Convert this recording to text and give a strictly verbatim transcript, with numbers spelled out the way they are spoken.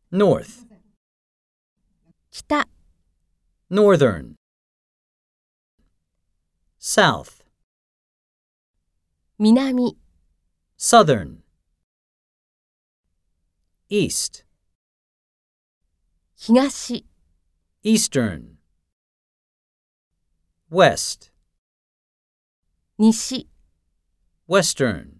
north, 北、 northern, south, 南、 southern, east, 東、 eastern, west, 西、 western.